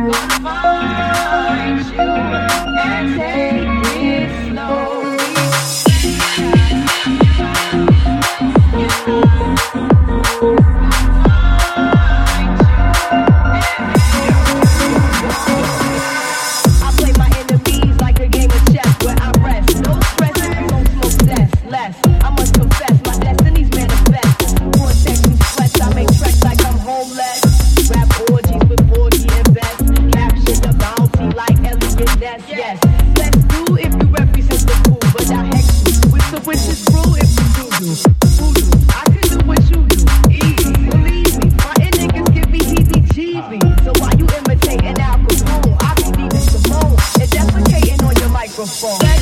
find you and take it slowly. I play my enemies like a game of chess where I rest. No stress, don't smoke less. I must confess, my destiny's manifest. Vortex and sweats, I make tracks like I'm homeless. Rap orgies with 40 and best. Capture the bounty like Elliot Ness, yes. Let's do if you represent the fool, but I hex you with the wishes through if you do. Voodoo, I can do what you do, easy. Believe me, my niggas give me heebie-jeebies. So why you imitating Al Capone? I be needing Simone and defecating on your microphone.